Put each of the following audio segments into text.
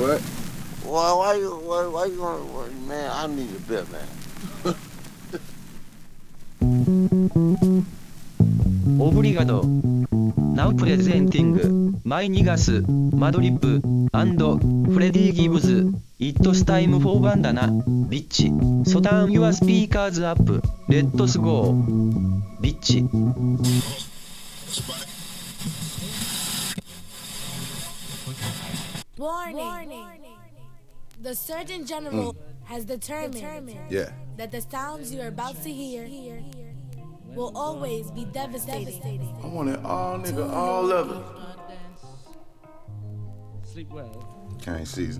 What? Why you gonna, man, I need a bit, man. Obrigado. Now presenting my niggas, Madlib, and Freddy Gibbs. It's time for bandana, bitch. So turn your speakers up. Let's go, bitch. Warning. The Surgeon General has determined that the sounds you are about to hear will always be devastating. I want it all, nigga, all of it. Sleep well. Cane season.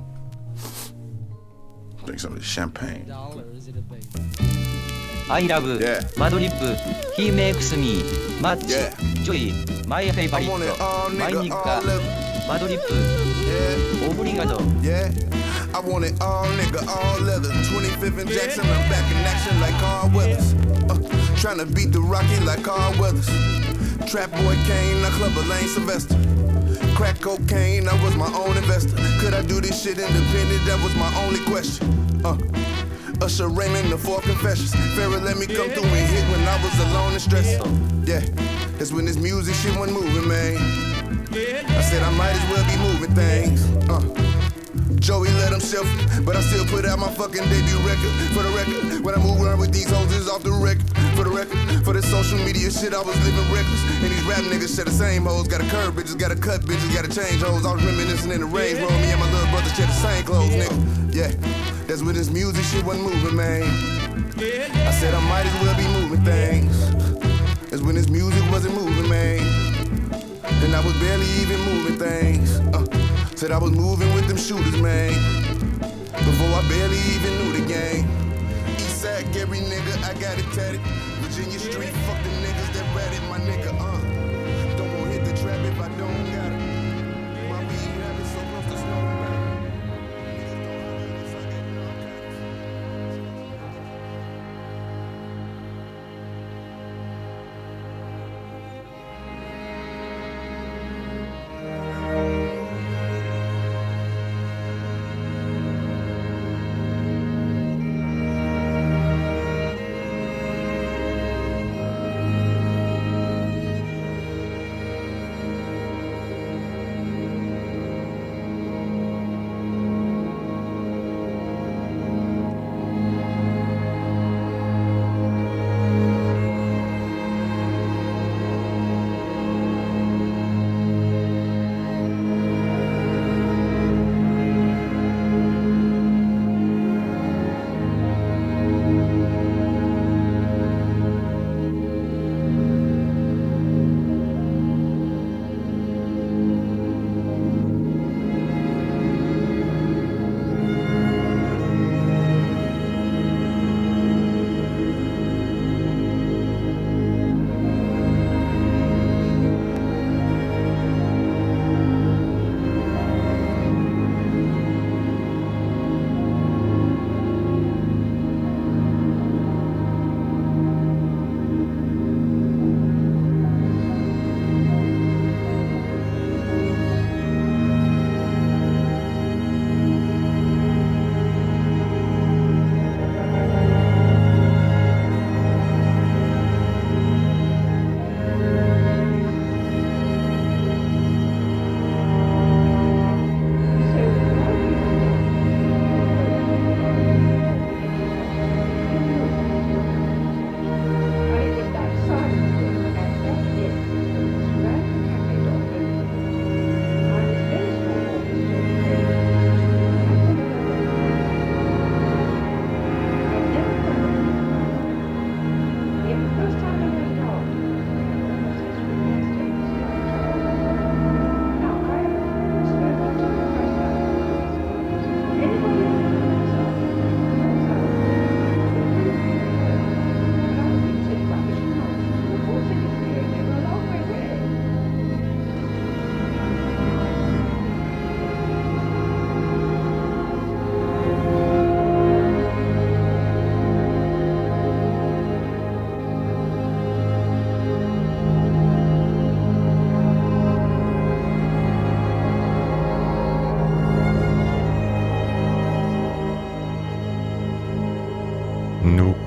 Drink some of this champagne. Dollar, is it a baby? I love Madlib. He makes me much joy. My favorite. I want it all, My nigga, all of it. Madlib. Yeah. Obrigado. Yeah, I want it all, nigga, all leather. 25th and Jackson, I'm back in action like Carl Weathers. Tryna beat the Rocky like Carl Weathers. Trap boy Kane, I club a Lane Sylvester. Crack cocaine, I was my own investor. Could I do this shit independent? That was my only question. Usher Raymond, the Four Confessions. Pharaoh let me come through and hit when I was alone and stressed. Yeah, that's when this music shit wasn't moving, man. I said I might as well be moving things. Joey let himself, but I still put out my fucking debut record. For the record, when I move around with these hoes, it's off the record. For the record, for the social media shit, I was living reckless. And these rap niggas share the same hoes. Gotta curve bitches, gotta cut bitches, gotta change hoes. I was reminiscing in the Range Rover. Me and my little brother share the same clothes, nigga. Yeah, that's when this music shit wasn't moving, man. I said I might as well be moving things. That's when this music wasn't moving, man. And I was barely even moving things. Said I was moving with them shooters, man. Before I barely even knew the game. Eastside, Gary nigga, I got it tatted. Virginia Street, fuck the niggas that ratted my nigga, Don't wanna hit the trap if I don't got it. My weed habit so close to snow.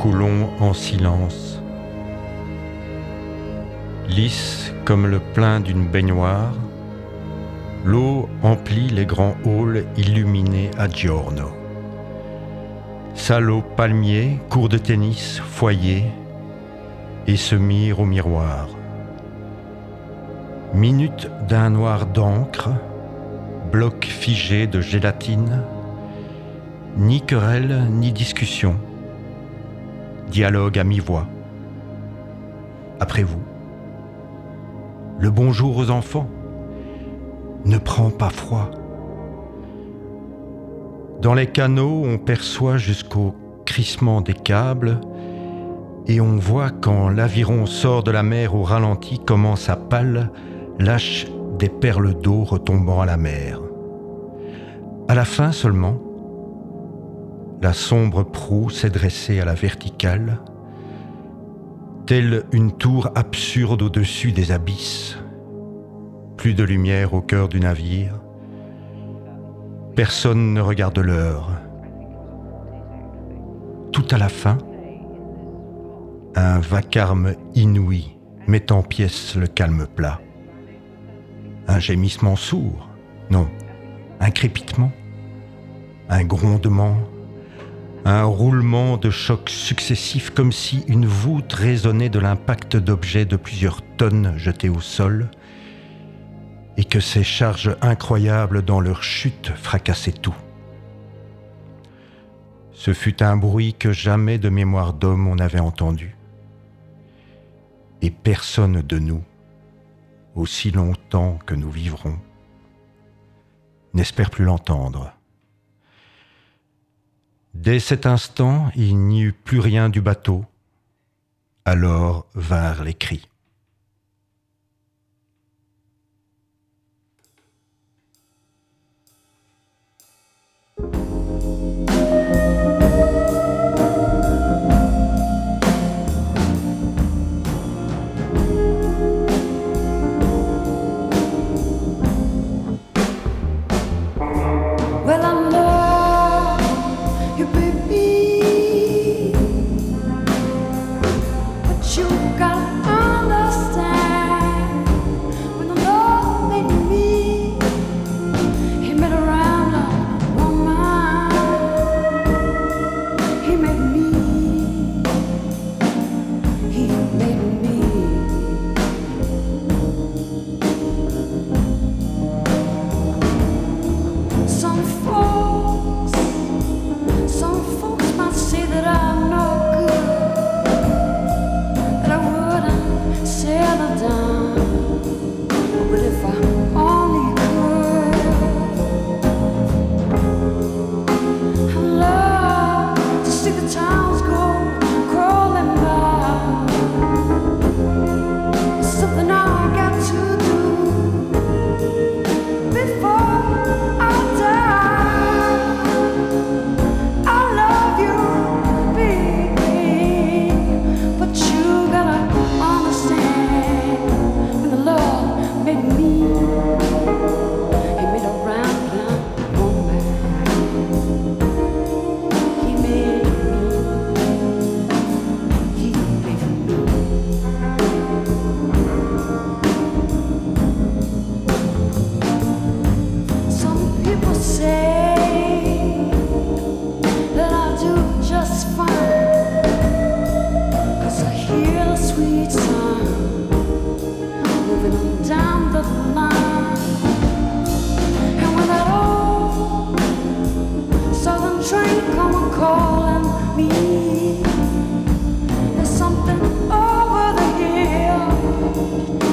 coulons en silence. Lisse comme le plein d'une baignoire, l'eau emplit les grands halls illuminés à giorno. Salle aux palmiers, cours de tennis, foyer, et se mire au miroir. Minute d'un noir d'encre, bloc figé de gélatine, ni querelle ni discussion, dialogue à mi-voix. Après vous, le bonjour aux enfants ne prend pas froid. Dans les canaux, on perçoit jusqu'au crissement des câbles et on voit quand l'aviron sort de la mer au ralenti comment sa pale lâche des perles d'eau retombant à la mer. À la fin seulement, la sombre proue s'est dressée à la verticale, telle une tour absurde au-dessus des abysses. Plus de lumière au cœur du navire. Personne ne regarde l'heure. Tout à la fin, un vacarme inouï met en pièces le calme plat. Un gémissement sourd, non, un crépitement, un grondement, un roulement de chocs successifs comme si une voûte résonnait de l'impact d'objets de plusieurs tonnes jetés au sol et que ces charges incroyables dans leur chute fracassaient tout. Ce fut un bruit que jamais de mémoire d'homme on n'avait entendu. Et personne de nous, aussi longtemps que nous vivrons, n'espère plus l'entendre. Dès cet instant, il n'y eut plus rien du bateau. Alors vinrent les cris.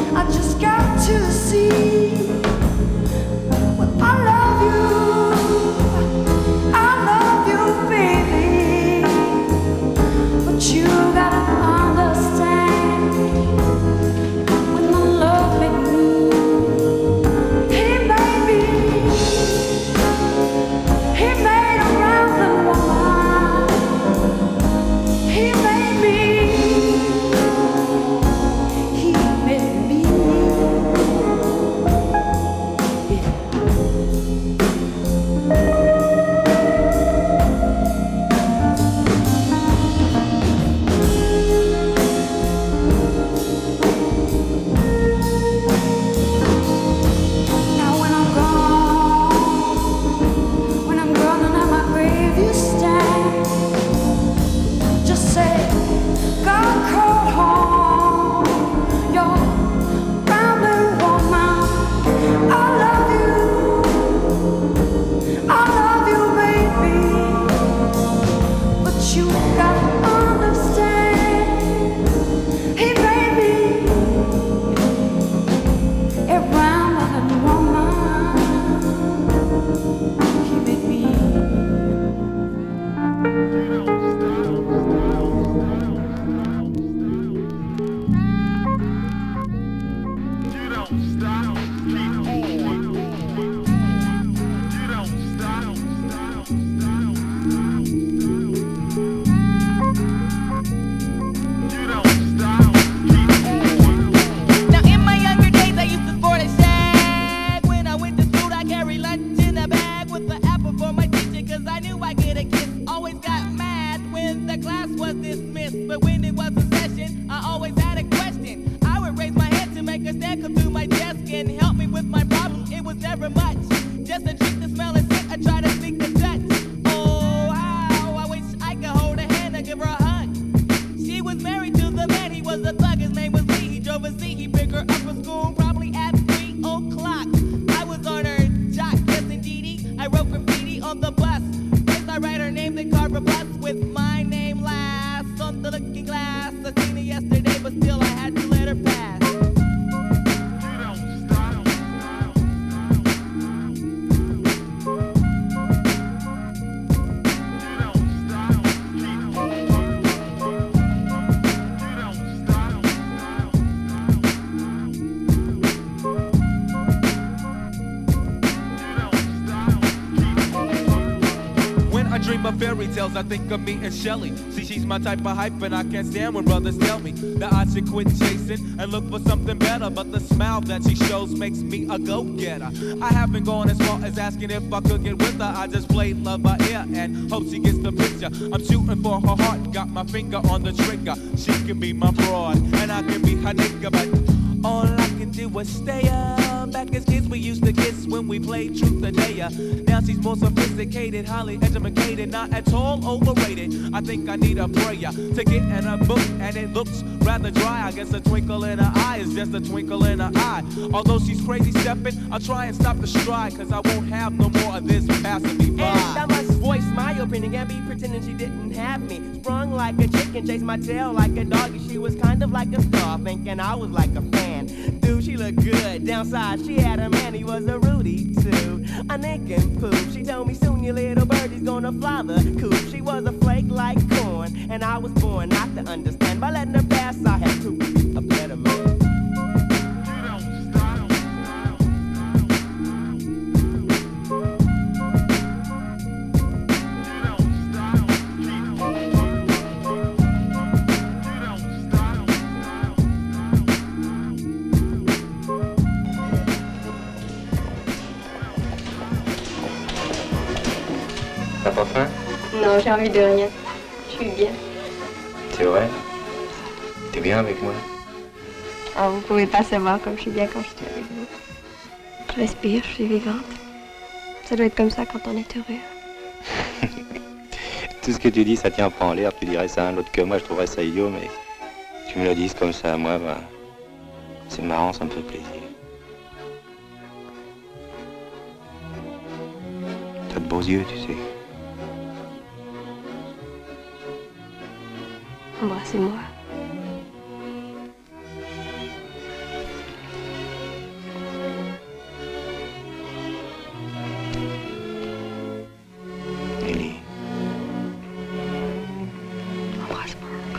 To see, well, I love you. dream of fairy tales, I think of me and Shelly. See, she's my type of hype, and I can't stand when brothers tell me that I should quit chasing and look for something better. But the smile that she shows makes me a go-getter. I haven't gone as far as asking if I could get with her. I just played love by ear and hope she gets the picture. I'm shooting for her heart, got my finger on the trigger. She can be my broad, and I can be her nigga, but all I can do is stay up. Back as kids, we used to kiss when we played truth or dare. Now she's more sophisticated, highly educated, not at all overrated. I think I need a prayer to get in her book, and it looks rather dry. I guess a twinkle in her eye is just a twinkle in her eye. Although she's crazy stepping, I'll try and stop the stride, cause I won't have no more of this passing me by. And I must voice my opinion and be pretending she didn't have me. Sprung like a chicken, chased my tail like a doggy. She was kind of like a star, thinking I was like a fan. Dude, she looked good. Downside, she had a man, he was a Rudy too. A nick and poop. She told me soon your little birdie's gonna fly the coop. She was a flake like corn, and I was born not to understand. By letting her pass, I had to be a better man. T'as pas faim? Non, j'ai envie de rien. Je suis bien. C'est vrai? T'es bien avec moi? Oh, vous pouvez pas savoir comme je suis bien quand je suis avec vous. Je respire, je suis vivante. Ça doit être comme ça quand on est heureux. Tout ce que tu dis, ça tient pas en l'air. Tu dirais ça à un autre que moi, je trouverais ça idiot, mais tu me le dises comme ça à moi, bah, c'est marrant, ça me fait plaisir. T'as de beaux yeux, tu sais. Embrassez-moi. Nelly. Embrasse-moi encore.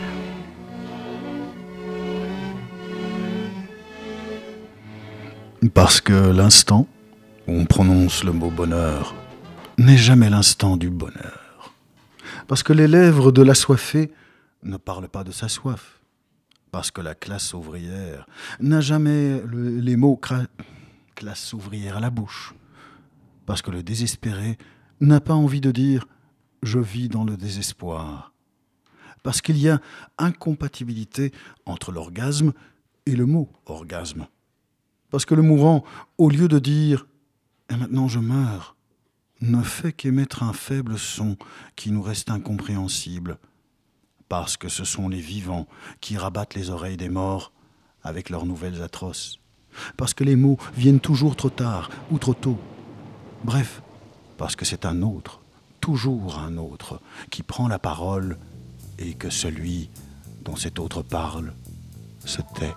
Parce que l'instant où on prononce le mot bonheur n'est jamais l'instant du bonheur. Parce que les lèvres de l'assoiffé ne parle pas de sa soif, parce que la classe ouvrière n'a jamais les mots classe ouvrière à la bouche, parce que le désespéré n'a pas envie de dire « je vis dans le désespoir », parce qu'il y a incompatibilité entre l'orgasme et le mot orgasme, parce que le mourant, au lieu de dire « et maintenant je meurs », ne fait qu'émettre un faible son qui nous reste incompréhensible, parce que ce sont les vivants qui rabattent les oreilles des morts avec leurs nouvelles atroces, parce que les mots viennent toujours trop tard ou trop tôt. Bref, parce que c'est un autre, toujours un autre, qui prend la parole et que celui dont cet autre parle se tait.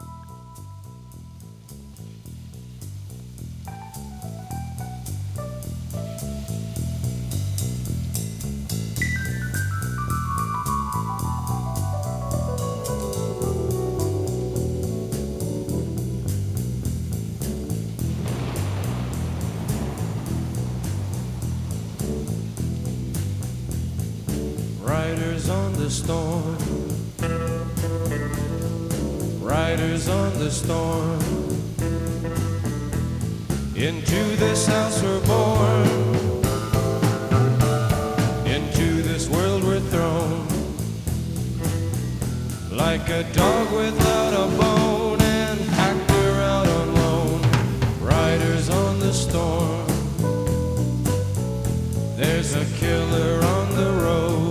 Storm. Riders on the storm. Into this house we're born. Into this world we're thrown. Like a dog without a bone and hacked her out on loan. Riders on the storm. There's a killer on the road.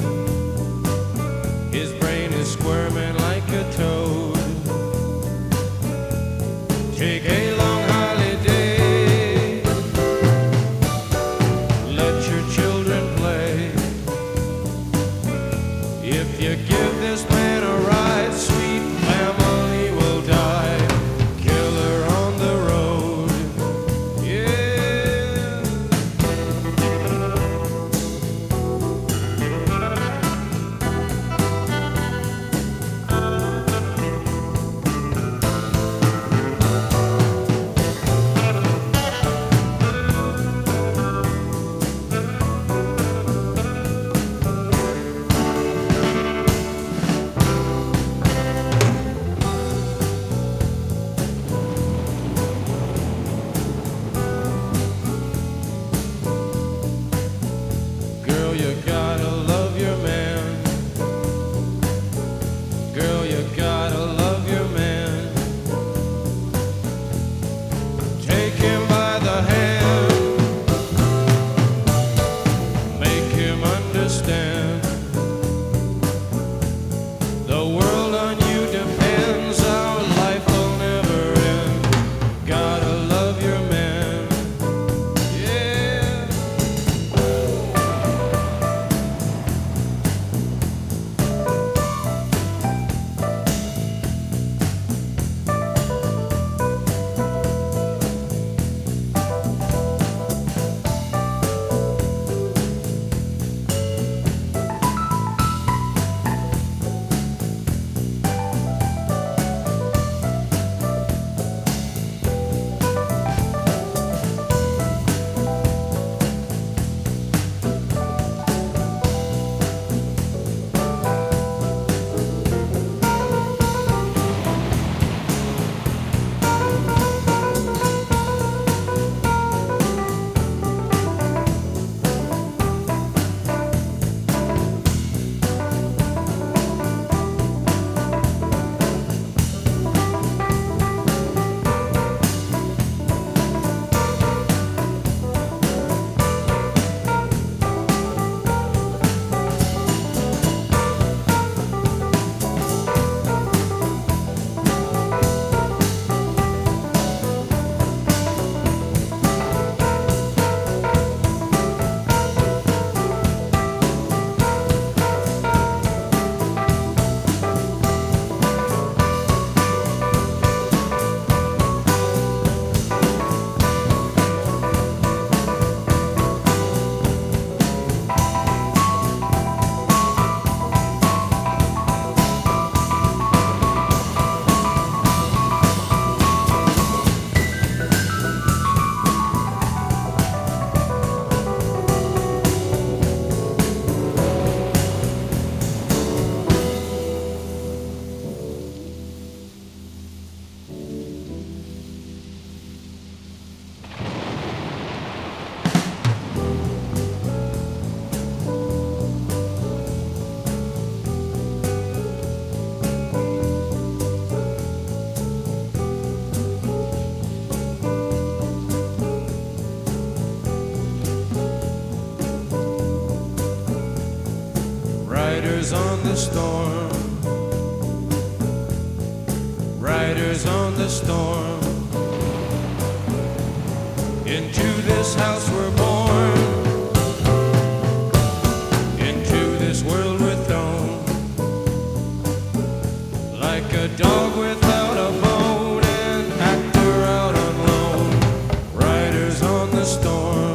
Squirming like a toad. Take a long holiday. Let your children play. If you give this man a ride, sweet family will die. Killer on the road. Yeah. Riders on the storm. Riders on the storm. Into this house we're born. Into this world we're thrown. Like a dog without a bone, an actor out on loan. Riders on the storm.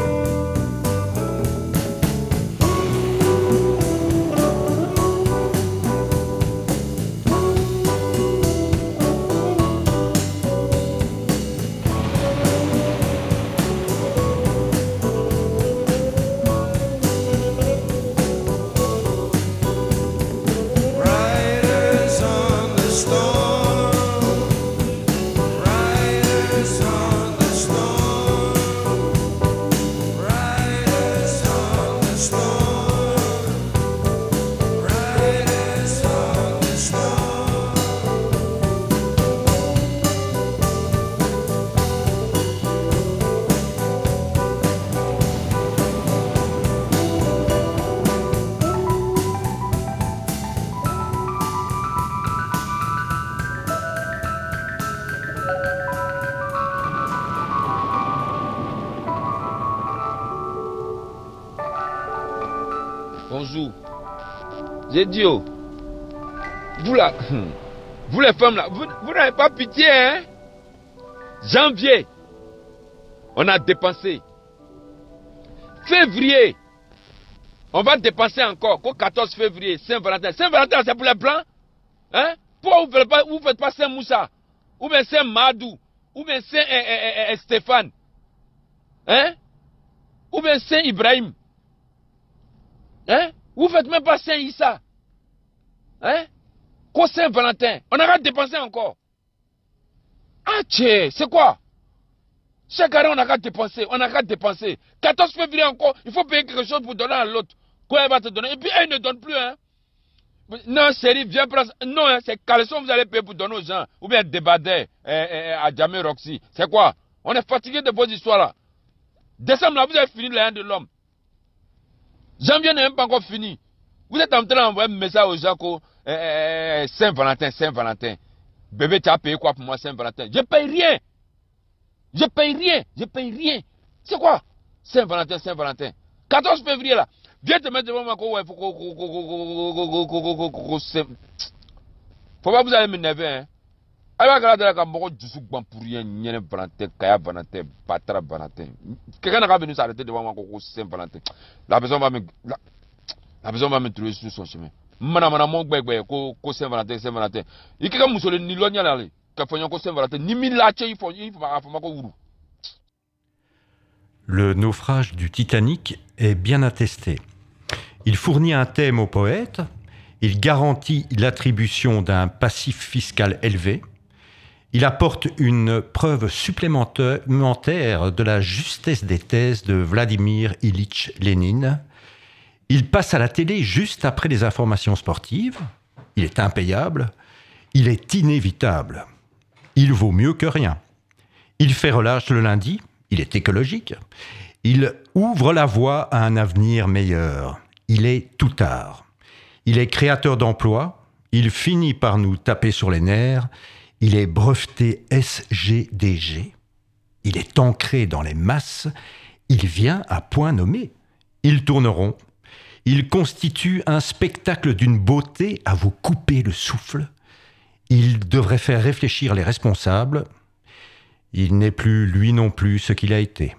Bonjour. J'ai dit, oh, vous là, vous les femmes là, vous n'avez pas pitié, hein? Janvier, on a dépensé. Février, on va dépenser encore. Qu'au 14 février, Saint-Valentin. Saint-Valentin, c'est pour les blancs? Hein? Pourquoi vous ne faites pas Saint-Moussa? Ou bien Saint-Madou? Ou bien Saint-Stéphane? Hein? Ou bien Saint-Ibrahim? Hein? Vous ne faites même pas Saint-Issa? Hein? Qu'au Saint-Valentin? On aura dépensé encore. Ah, tchè, c'est quoi? Chaque année, on aura dépensé. On aura dépensé. 14 février encore, il faut payer quelque chose pour donner à l'autre. Quoi elle va te donner? Et puis, elle ne donne plus, hein? Non, chérie, viens prendre. Non, hein, c'est caleçon vous allez payer pour donner aux gens. Ou bien Débadé à Jamé Roxy. C'est quoi? On est fatigué de vos histoires là. Décembre là, vous avez fini les de l'homme. Janvier n'est même pas encore fini. Vous êtes en train d'envoyer un message aux gens que Saint-Valentin, Saint-Valentin. Bébé, tu as payé quoi pour moi Saint-Valentin? Je paye rien. Je paye rien. Je paye rien. C'est quoi? Saint-Valentin, Saint-Valentin. 14 février là. Viens te mettre devant moi. Faut pas vous allez m'énerver, hein. Alors, regarde là, quand beaucoup de souk pour rien, n'y Valentin, Kaya Valentin, Patra Valentin. Quelqu'un n'a pas venu s'arrêter devant moi, Saint-Valentin. La personne va me trouver sur son chemin. Mana mon bébé, Saint-Valentin, Saint-Valentin. Il y a quelqu'un qui ni loin d'aller, qui a fait Saint-Valentin, ni mille lâches, il faut Le naufrage du Titanic est bien attesté. Il fournit un thème au poète, il garantit l'attribution d'un passif fiscal élevé, il apporte une preuve supplémentaire de la justesse des thèses de Vladimir Ilitch Lénine. Il passe à la télé juste après les informations sportives. Il est impayable. Il est inévitable. Il vaut mieux que rien. Il fait relâche le lundi. Il est écologique. Il ouvre la voie à un avenir meilleur. Il est toutard. Il est créateur d'emplois. Il finit par nous taper sur les nerfs. Il est breveté SGDG. Il est ancré dans les masses. Il vient à point nommé. Ils tourneront. Il constitue un spectacle d'une beauté à vous couper le souffle. Il devrait faire réfléchir les responsables. Il n'est plus, lui non plus, ce qu'il a été.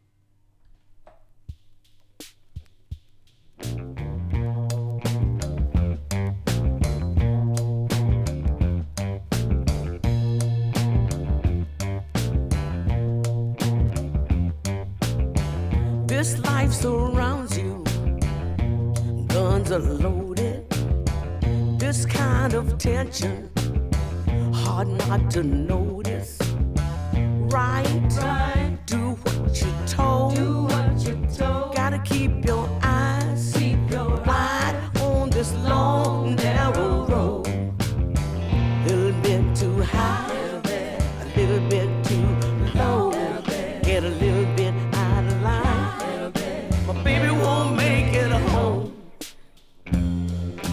This life surrounds you, guns are loaded. This kind of tension, hard not to notice. Right, do what you're told. Gotta keep your eyes wide on this long, narrow road. Little bit too high, a little bit too low. Get a little bit out of line. My baby won't make it home.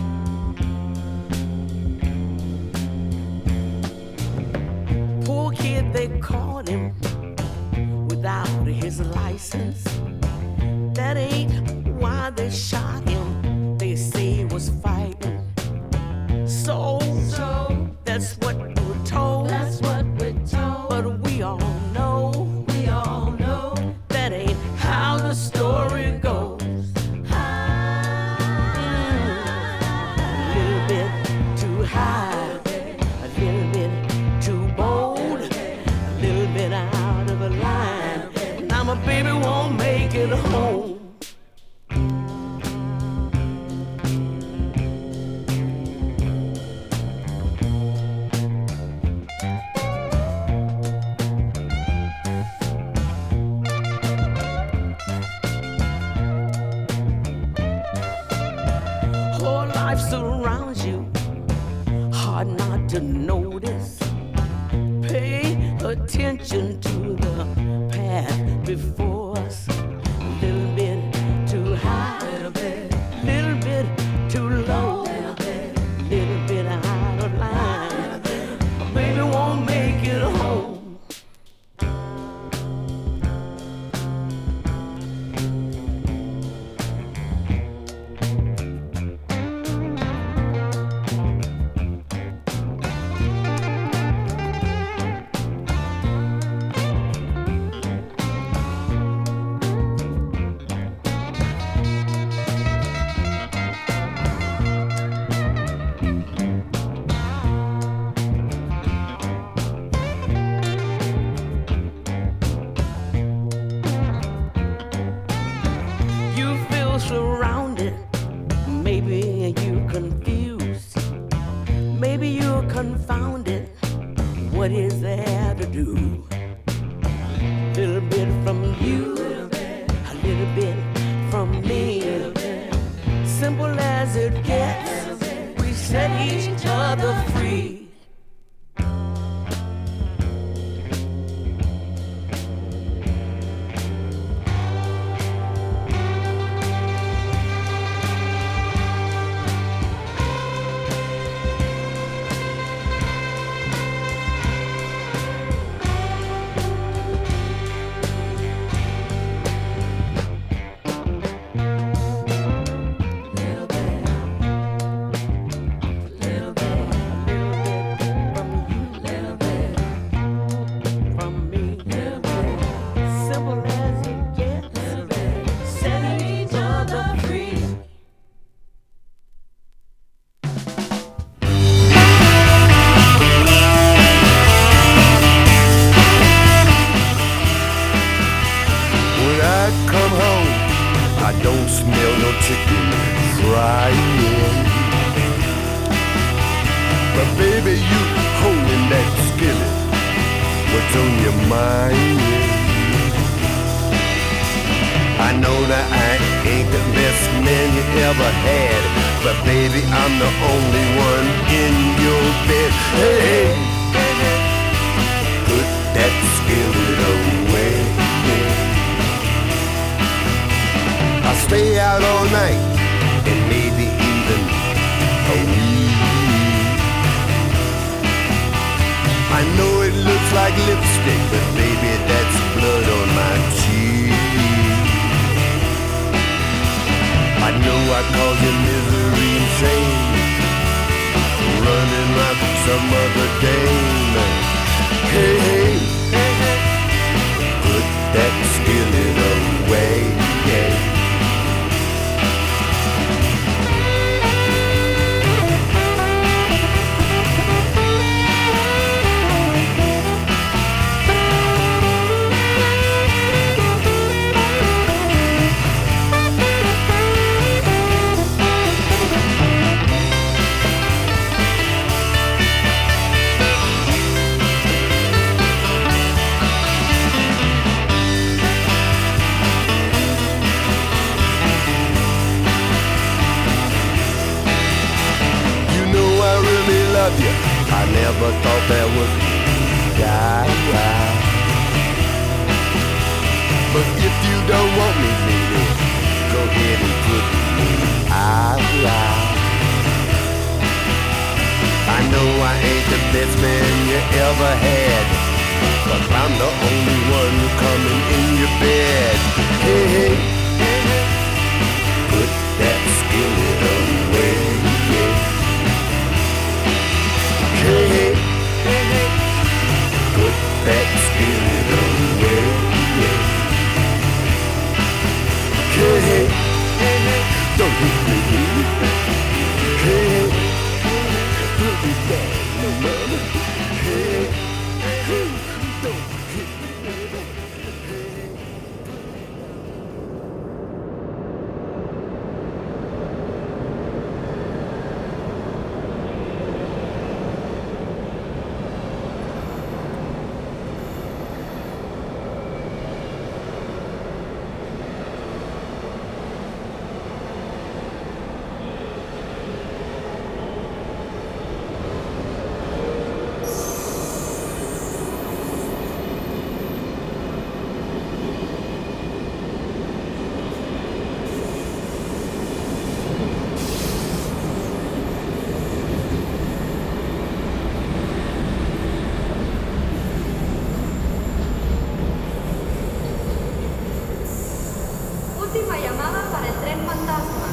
without his license. That ain't why they shot him. They say he was fighting. So that's what we're told. That's what we're told. But we all know that ain't how the story goes. A little bit too high, a little bit too bold, a little bit out of line. Now my baby won't make it home. Surrounds you, hard not to notice. Pay attention to the path before us. A little bit too high, little bit too low, little bit out of line. My baby won't make it home. Surrounded, maybe you confused, maybe you're confounded. What is there to do? A little bit from you, a little bit from me. Simple as it gets, we set each other free. I know I ain't the best man you ever had, but I'm the only one coming in your bed. Hey, hey, put that skillet away. Hey, hey, put that skillet away. Hey, hey, don't hit me. Hey, hey, put me back, no mama. Hey, hey, don't hit me. Última llamada para el tren fantasma.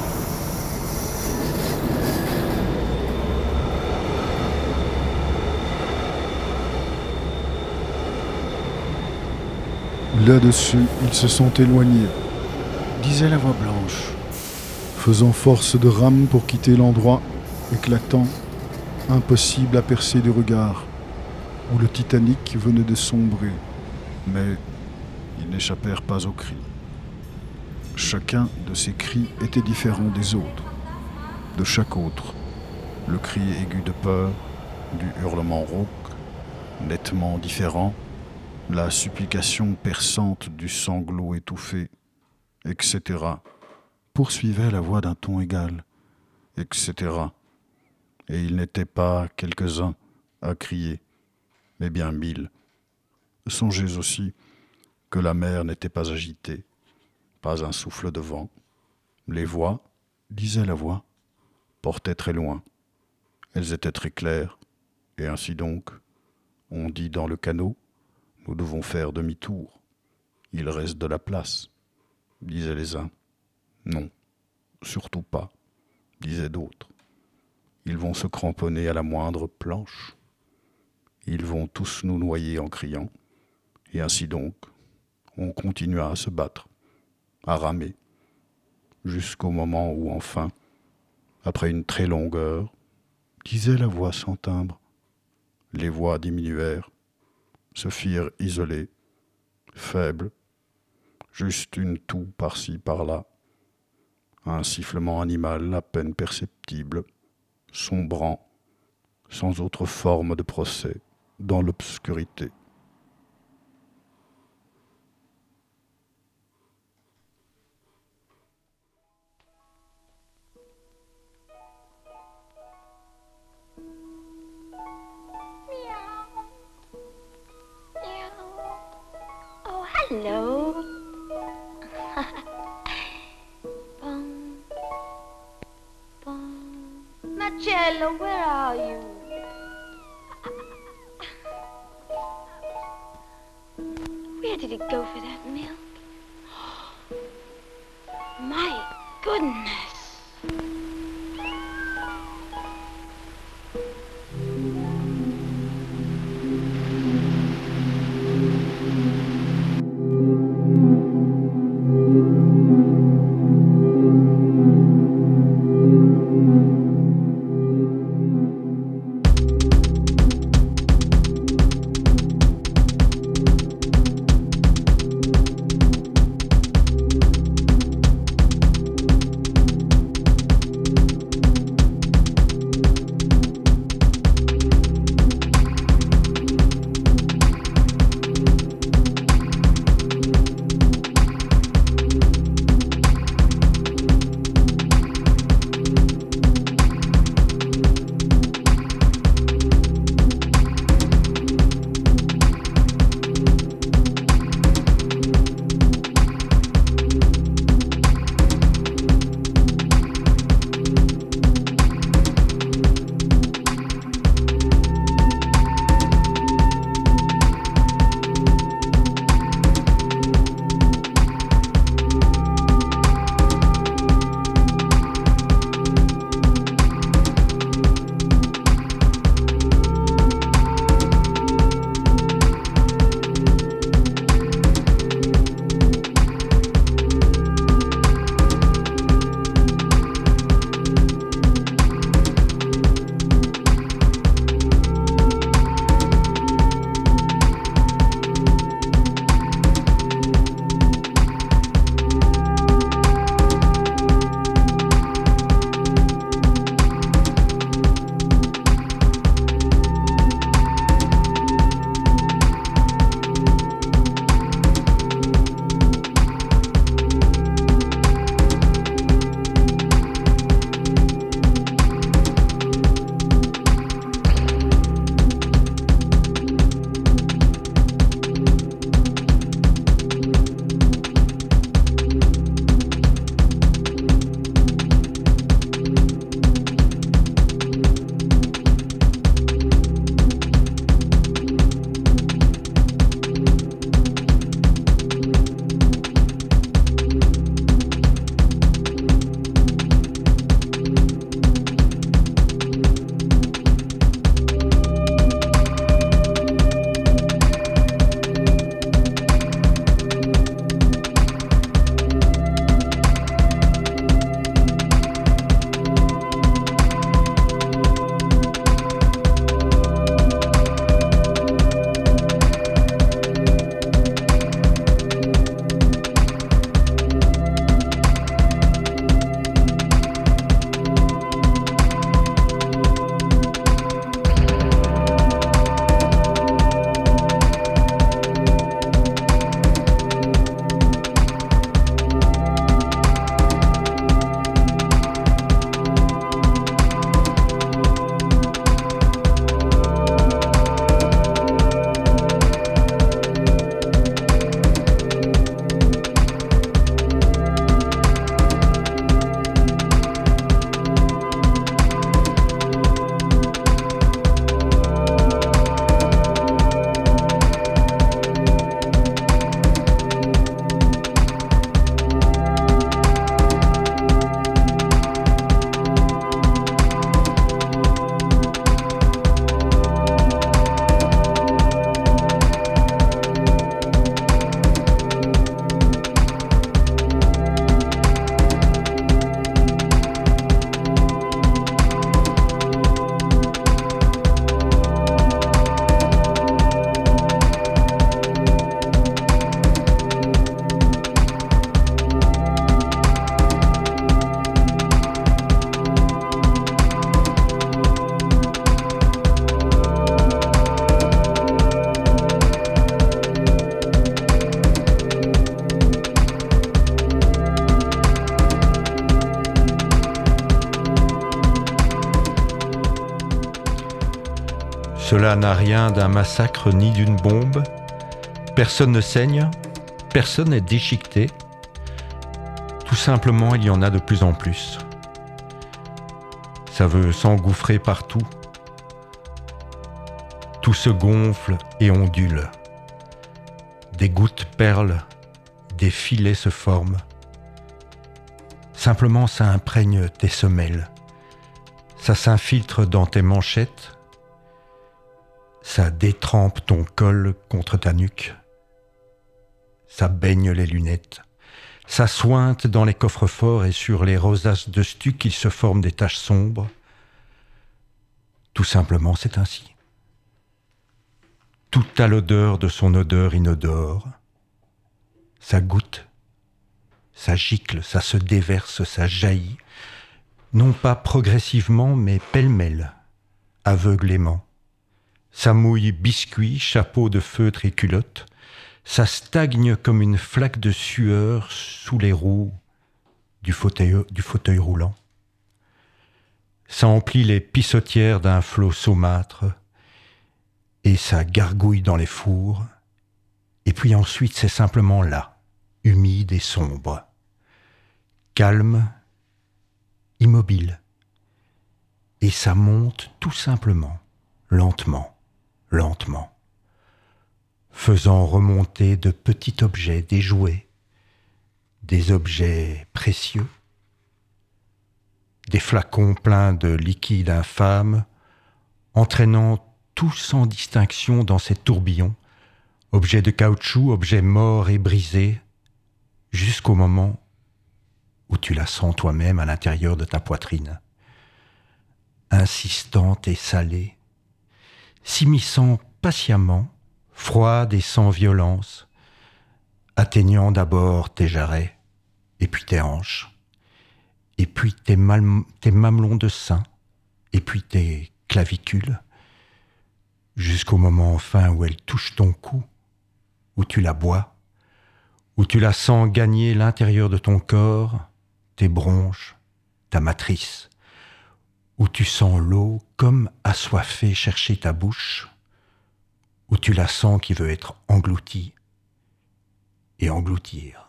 Là-dessus, ils se sont éloignés, disait la voix blanche, faisant force de rame pour quitter l'endroit éclatant, impossible à percer du regard, où le Titanic venait de sombrer. Mais ils n'échappèrent pas aux cris. Chacun de ces cris était différent des autres, de chaque autre. Le cri aigu de peur, du hurlement rauque, nettement différent, la supplication perçante du sanglot étouffé, etc., poursuivait la voix d'un ton égal, etc. Et il n'était pas quelques-uns à crier, mais bien 1000. Songez aussi que la mer n'était pas agitée, pas un souffle de vent. Les voix, disait la voix, portaient très loin. Elles étaient très claires, et ainsi donc, on dit dans le canot, nous devons faire demi-tour. Il reste de la place, disaient les uns. Non, surtout pas, disaient d'autres. Ils vont se cramponner à la moindre planche. Ils vont tous nous noyer en criant. Et ainsi donc, on continua à se battre, à ramer, jusqu'au moment où enfin, après une très longue heure, disait la voix sans timbre, les voix diminuèrent, se firent isolées, faibles, juste une toux par-ci par-là, un sifflement animal à peine perceptible, sombrant, sans autre forme de procès, dans l'obscurité. Hello. Marcello, where are you? Where did it go for that milk? My goodness. Cela n'a rien d'un massacre ni d'une bombe. Personne ne saigne, personne n'est déchiqueté. Tout simplement, il y en a de plus en plus. Ça veut s'engouffrer partout. Tout se gonfle et ondule. Des gouttes perlent, des filets se forment. Simplement, ça imprègne tes semelles. Ça s'infiltre dans tes manchettes. Ça détrempe ton col contre ta nuque. Ça baigne les lunettes. Ça sointe dans les coffres-forts et sur les rosaces de stuc, il se forme des taches sombres. Tout simplement, c'est ainsi. Tout a l'odeur de son odeur inodore. Ça goûte, ça gicle, ça se déverse, ça jaillit. Non pas progressivement, mais pêle-mêle, aveuglément. Ça mouille biscuits, chapeau de feutre et culotte. Ça stagne comme une flaque de sueur sous les roues du fauteuil roulant. Ça emplit les pissotières d'un flot saumâtre et ça gargouille dans les fours. Et puis ensuite, c'est simplement là, humide et sombre, calme, immobile. Et ça monte tout simplement, lentement, lentement, faisant remonter de petits objets, des jouets, des objets précieux, des flacons pleins de liquide infâme, entraînant tout sans distinction dans ces tourbillons, objets de caoutchouc, objets morts et brisés, jusqu'au moment où tu la sens toi-même à l'intérieur de ta poitrine, insistante et salée, s'immisçant patiemment, froide et sans violence, atteignant d'abord tes jarrets, et puis tes hanches, et puis tes mamelons de sein, et puis tes clavicules, jusqu'au moment enfin où elle touche ton cou, où tu la bois, où tu la sens gagner l'intérieur de ton corps, tes bronches, ta matrice, où tu sens l'eau comme assoiffée chercher ta bouche, où tu la sens qui veut être engloutie et engloutir.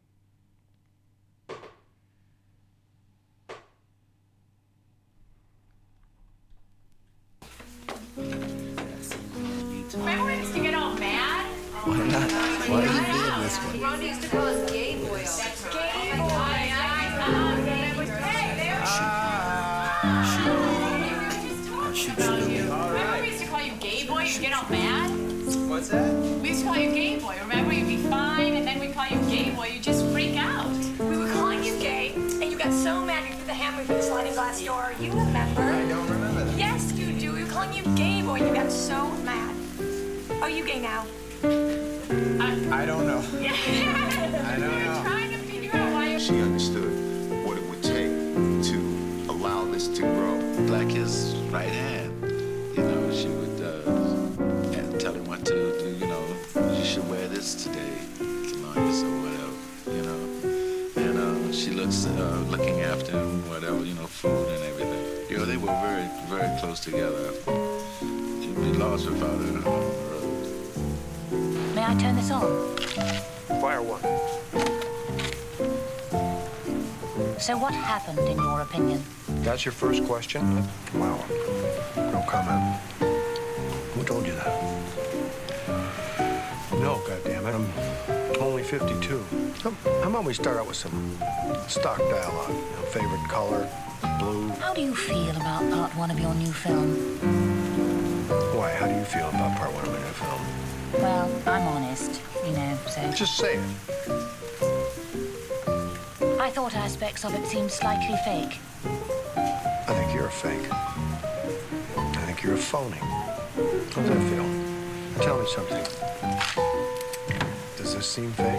Remember when we used to get all mad? Why not? Why are you doing this one? Ron used to call us gay boys. That's gay boys. Remember we used to call you gay boy? You'd get all mad? What's that? We used to call you gay boy. Remember, you'd be fine, and then we'd call you gay boy. You'd just freak out. We were calling you gay, and you got so mad you threw the hammer through the sliding glass door. You remember? I don't remember that. Yes, you do. We were calling you gay boy. You got so mad. Are you gay now? I don't know. Yeah. I don't know. Trying to figure out why you're... She understood what it would take to allow this to grow. Like his right hand. You know, she would tell him what to do, you know, you should wear this today, tonight, or whatever, you know. And she looking after him, whatever, you know, food and everything. You know, they were very, very close together. You'd be lost without her on the road. May I turn this on? Fire one. So what happened, in your opinion? That's your first question? Wow. No comment. Who told you that? No, goddammit, I'm only 52. How about we start out with some stock dialogue? You know, favorite color, blue. How do you feel about part one of your new film? Why, how do you feel about part one of my new film? Well, I'm honest, you know, so... Just say it. I thought aspects of it seemed slightly fake. I think you're a fake. I think you're a phony. How's that feel? Tell me something. Does this seem fake?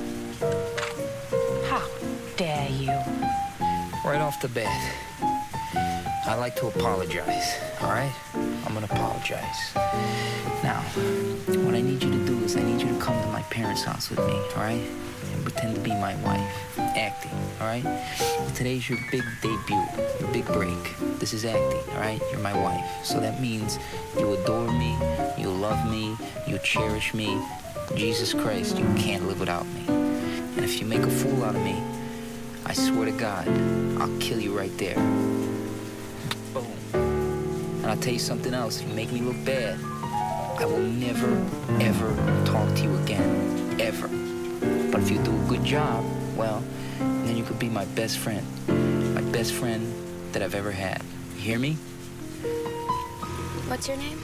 How dare you? Right off the bat, I'd like to apologize, all right? I'm gonna apologize. Now, what I need you to do is I need you to come to my parents' house with me, all right? And pretend to be my wife. Acting, alright? Today's your big debut, your big break. This is acting, alright? You're my wife. So that means you adore me, you love me, you cherish me. Jesus Christ, you can't live without me. And if you make a fool out of me, I swear to God, I'll kill you right there. Boom. And I'll tell you something else. If you make me look bad, I will never, ever talk to you again. Ever. But if you do a good job, well, then you could be my best friend. My best friend that I've ever had. You hear me? What's your name?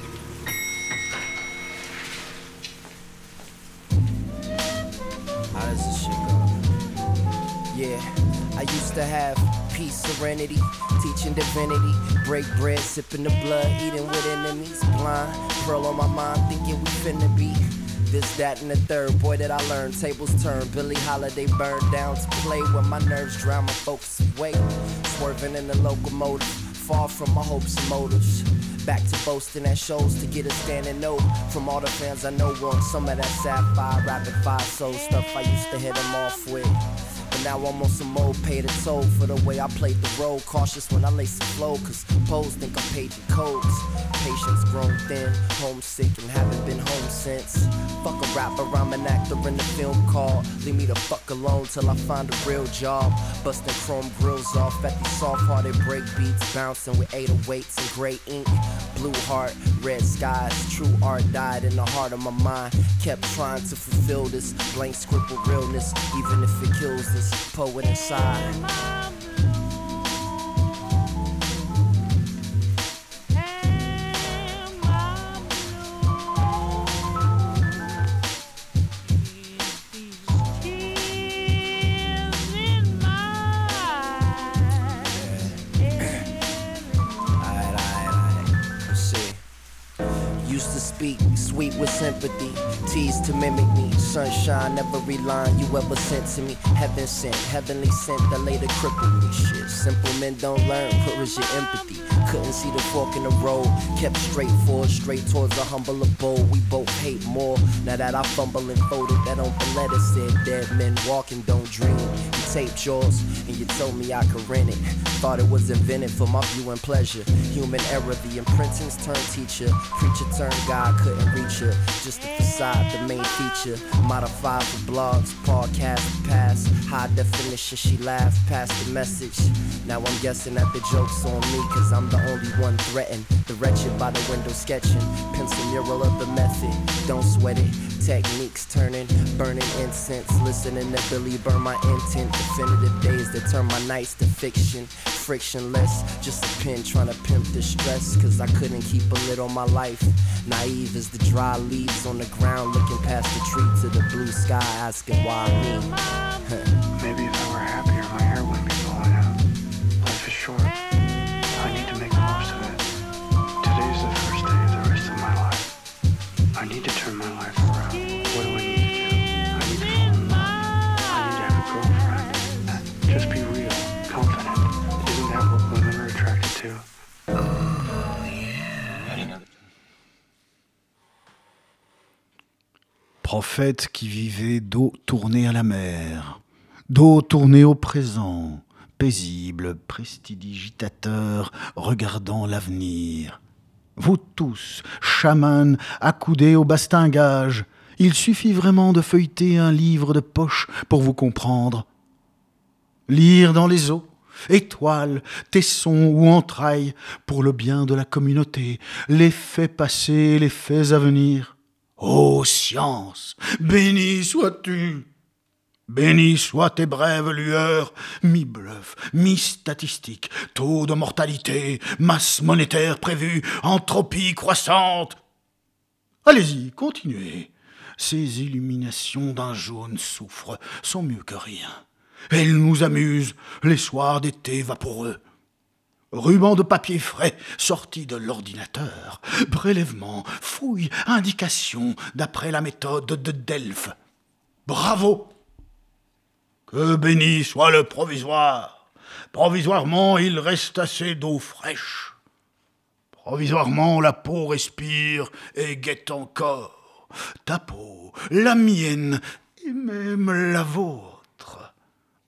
How does this shit go? Yeah, I used to have peace, serenity, teaching divinity, break bread, sipping the blood, eating with enemies, blind, pearl on my mind, thinking we finna be this, that, and the third. Boy, that I learned, tables turn, Billie Holiday burned down to play when my nerves drown my focus away, swerving in the locomotive, far from my hopes and motives. Back to boasting at shows to get a standing note from all the fans I know want some of that sapphire, rapid fire soul stuff I used to hit them off with. But now I'm on some old pay the toll for the way I played the role. Cautious when I lace the flow, cause pros think I'm paging codes. Patience grown thin, homesick and haven't been home since. Fuck a rapper, I'm an actor in the film called Leave Me the Fuck Alone Till I Find a Real Job. Busting chrome grills off at these soft-hearted break beats, bouncing with 808s and gray ink. Blue heart, red skies, true art died in the heart of my mind. Kept trying to fulfill this blank script with realness, even if it kills this poet inside. Sweet with sympathy, teased to mimic me. Sunshine, every line you ever sent to me. Heaven sent, heavenly sent that later crippled me. Shit, simple men don't learn, where is your empathy? Couldn't see the fork in the road, kept straight forward, straight towards a humble abode. We both hate more, now that I fumble and folded. That on the letter said, dead men walking don't dream. You taped yours, and you told me I could rent it. Thought it was invented for my view and pleasure. Human error, the imprintings turned teacher. Preacher turned God, couldn't reach her. Just the facade, the main feature. Modified for blogs, podcast, pass. High definition, she laughed past the message. Now I'm guessing that the joke's on me, cause I'm the only one threatened. The wretched by the window sketching. Pencil mural of the method, don't sweat it. Techniques turning, burning incense. Listening to Billy burn my intent. Definitive days that turn my nights to fiction. Frictionless, just a pen trying to pimp the stress. Cause I couldn't keep a lid on my life. Naive as the dry leaves on the ground, looking past the tree to the blue sky, asking why me. Maybe if I were happier, my hair wouldn't be falling out. Life is short. I need to make the most of it. Today's the first day of the rest of my life. I need to turn my life around. What do I need to do? I need to fall in love. I need to have a girlfriend. Just be real, confident. Isn't that what women are attracted to? Prophète qui vivait dos tourné à la mer, dos tourné au présent, paisible, prestidigitateur, regardant l'avenir. Vous tous, chamans, accoudés au bastingage, il suffit vraiment de feuilleter un livre de poche pour vous comprendre. Lire dans les eaux, étoiles, tessons ou entrailles, pour le bien de la communauté, les faits passés, les faits à venir. Ô science, béni sois-tu, béni soient tes brèves lueurs, mi-bluff, mi-statistique, taux de mortalité, masse monétaire prévue, entropie croissante. Allez-y, continuez. Ces illuminations d'un jaune soufre sont mieux que rien. Elles nous amusent les soirs d'été vaporeux. Ruban de papier frais sorti de l'ordinateur, prélèvement, fouille, indication d'après la méthode de Delphes. Bravo! Que béni soit le provisoire! Provisoirement, il reste assez d'eau fraîche. Provisoirement, la peau respire et guette encore. Ta peau, la mienne et même la vôtre.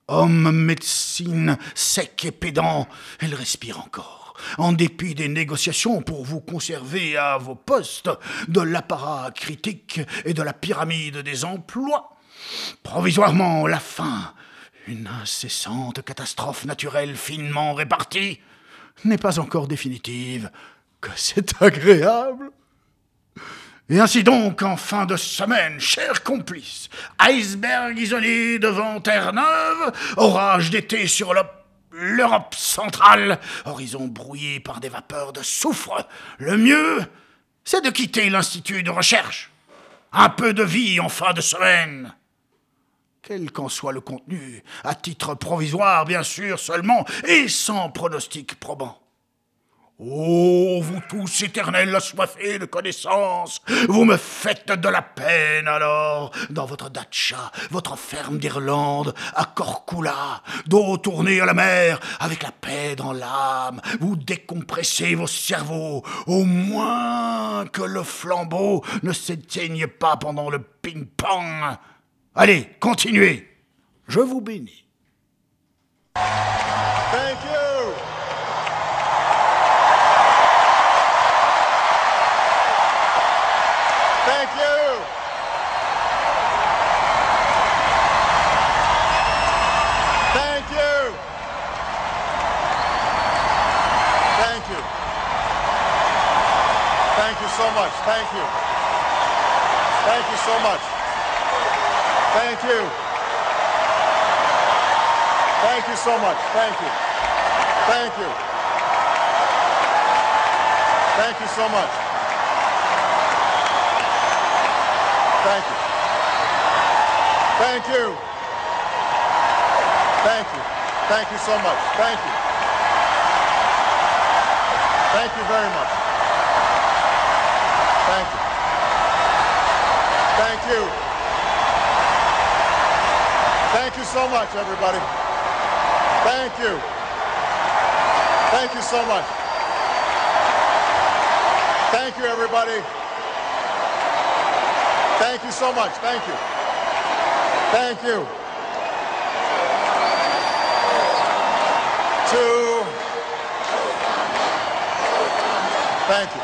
Homme médecine, sec et pédant, elle respire encore. En dépit des négociations pour vous conserver à vos postes, de l'apparat critique et de la pyramide des emplois. Provisoirement, la faim, une incessante catastrophe naturelle finement répartie, n'est pas encore définitive, que c'est agréable. Et ainsi donc, en fin de semaine, chers complices, iceberg isolé devant Terre-Neuve, orage d'été sur l'Europe centrale, horizon brouillé par des vapeurs de soufre, le mieux, c'est de quitter l'Institut de recherche. Un peu de vie en fin de semaine. Quel qu'en soit le contenu, à titre provisoire bien sûr seulement, et sans pronostic probant. Ô vous tous éternels assoiffés de connaissances, vous me faites de la peine alors, dans votre datcha, votre ferme d'Irlande, à Corcula, dos tourné à la mer, avec la paix dans l'âme, vous décompressez vos cerveaux, au moins que le flambeau ne s'éteigne pas pendant le ping-pong. Allez, continuez, je vous bénis. Thank you. Thank you. Thank you. Thank you. Thank you so much. Thank you. Thank you so much. Thank you. Thank you so much. Thank you. Thank you. Thank you so much. Thank you. Thank you. Thank you. Thank you so much. Thank you. Thank you very much. Thank you. Thank you. Thank you so much, everybody. Thank you. Thank you so much. Thank you, everybody. Thank you so much. Thank you. Thank you. Thank you.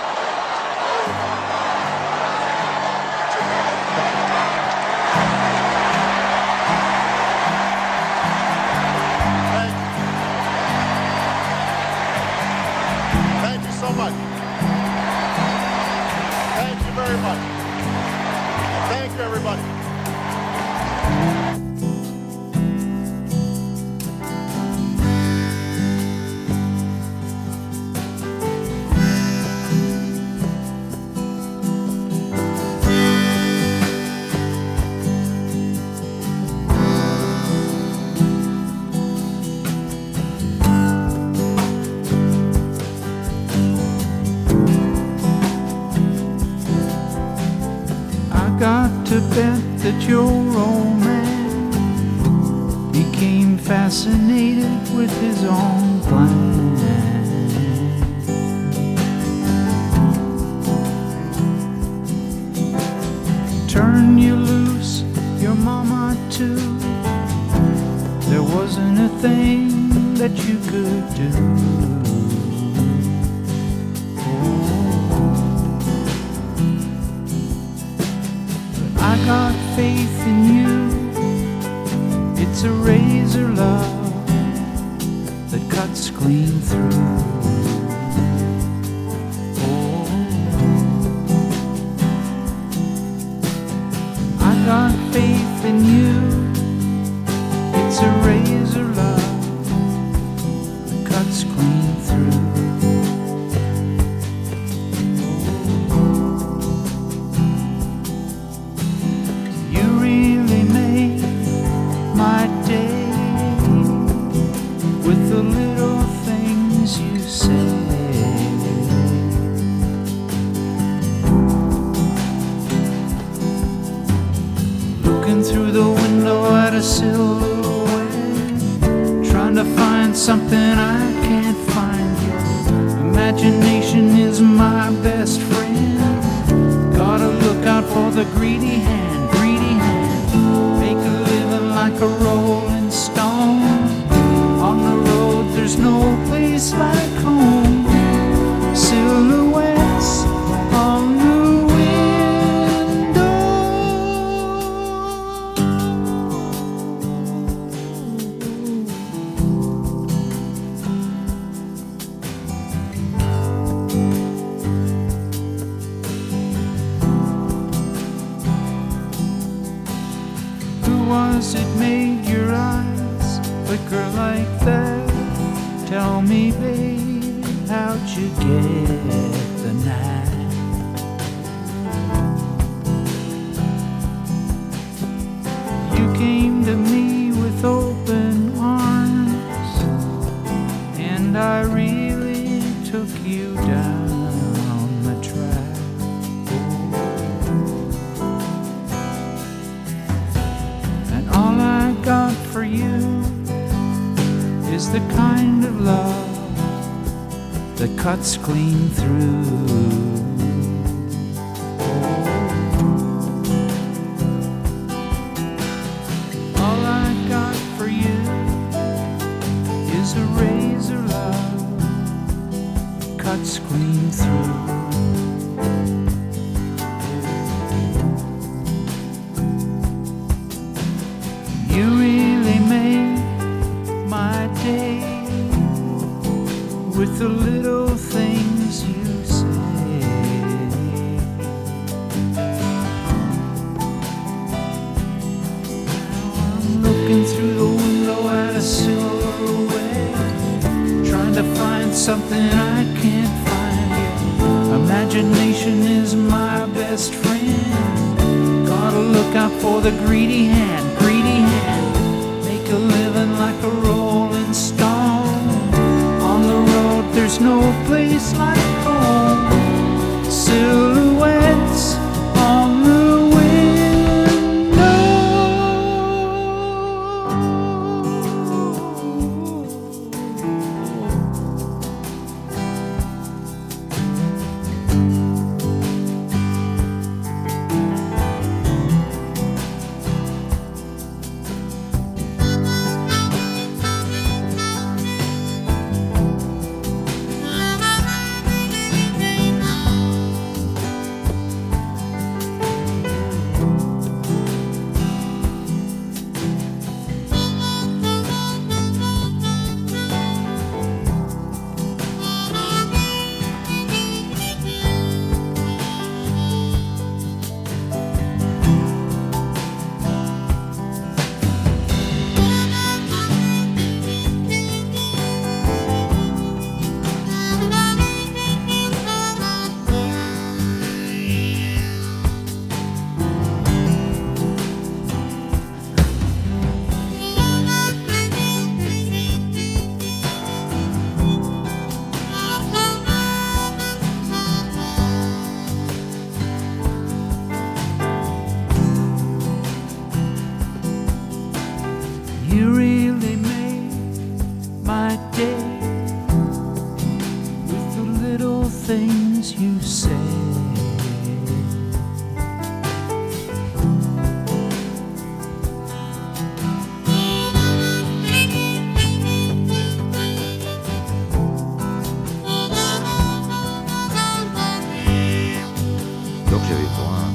Thank you so much. Thank you very much. Thank you, everybody. Got to bet that your old man became fascinated with his own plan. Turn you loose, your mama too. There wasn't a thing that you could do. I got faith in you. It's a razor love that cuts clean through. Oh, I got faith in you. It's a razor love that cuts clean through. Through the window at a silhouette, trying to find something I can't find yet. Imagination is my best friend. Gotta look out for the greedy hand, greedy hand. Make a living like a rolling rolling stone. On the road, there's no place like home. Silhouettes on the was it made your eyes flicker like that? Tell me, baby, how'd you get the night? You came to me with open arms, and I really took you down the track. All I got for you is the kind of love that cuts clean through. All I got for you is a razor love that cuts clean through. You really made my day with the little things you say. Now I'm looking through the window at a silhouette, trying to find something I can't find yet. Imagination is my best friend. Gotta look out for the greedy hand. Make a living like a rolling stone. On the road, there's no place like home. Silhouettes on the You really made my day with the little things you say. Donc j'avais droit à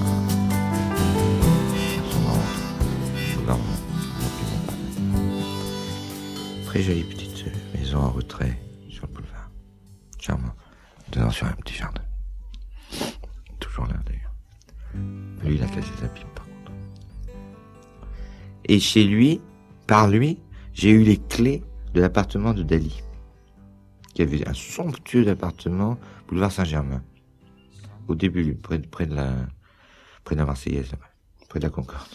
son ventre. Très jolie petite maison en retrait sur le boulevard. Charmant. Dedans sur un petit jardin. Toujours là d'ailleurs. Lui, il a cassé sa pipe par contre. Et chez lui, par lui, j'ai eu les clés de l'appartement de Dali. Qui avait un somptueux appartement, boulevard Saint-Germain. Au début, près de la Marseillaise, là-bas, près de la Concorde.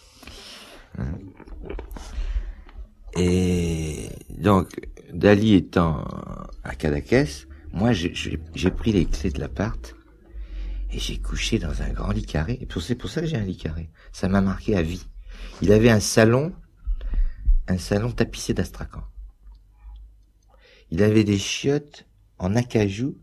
Et donc, Dali étant à Cadaqués, moi j'ai pris les clés de l'appart et j'ai couché dans un grand lit carré. Et c'est pour ça que j'ai un lit carré. Ça m'a marqué à vie. Il avait un salon tapissé d'astrakan. Il avait des chiottes en acajou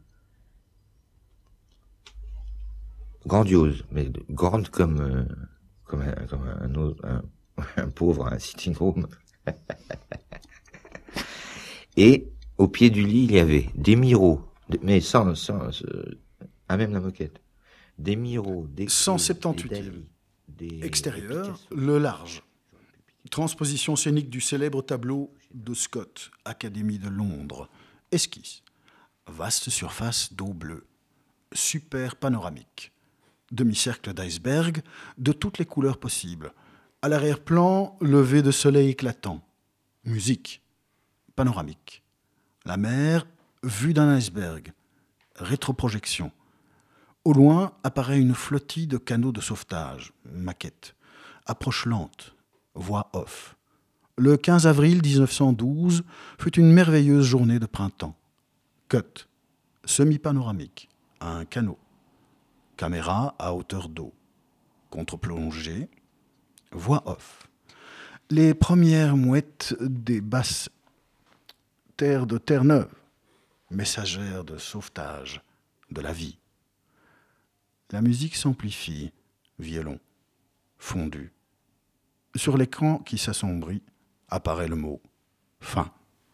grandioses, mais grandes comme un pauvre, un sitting room. Et au pied du lit, il y avait des miroirs, mais sans même la moquette. Des miroirs, des 178e. Extérieur, le large. Transposition scénique du célèbre tableau de Scott, Académie de Londres. Esquisse. Vaste surface d'eau bleue. Super panoramique. Demi-cercle d'iceberg de toutes les couleurs possibles. À l'arrière-plan, lever de soleil éclatant. Musique. Panoramique. La mer, vue d'un iceberg. Rétroprojection. Au loin apparaît une flottille de canots de sauvetage. Maquette. Approche lente. Voix off. Le 15 avril 1912 fut une merveilleuse journée de printemps. Cut. Semi-panoramique. Un canot. Caméra à hauteur d'eau. Contre-plongée. Voix off. Les premières mouettes des basses terres de Terre-Neuve, messagères de sauvetage, de la vie. La musique s'amplifie, violon, fondu. Sur l'écran qui s'assombrit, apparaît le mot « fin ».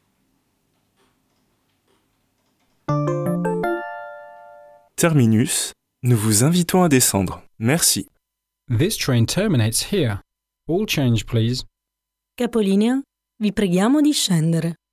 Terminus, nous vous invitons à descendre. Merci. This train terminates here. All change, please. Capolinea, vi preghiamo di scendere.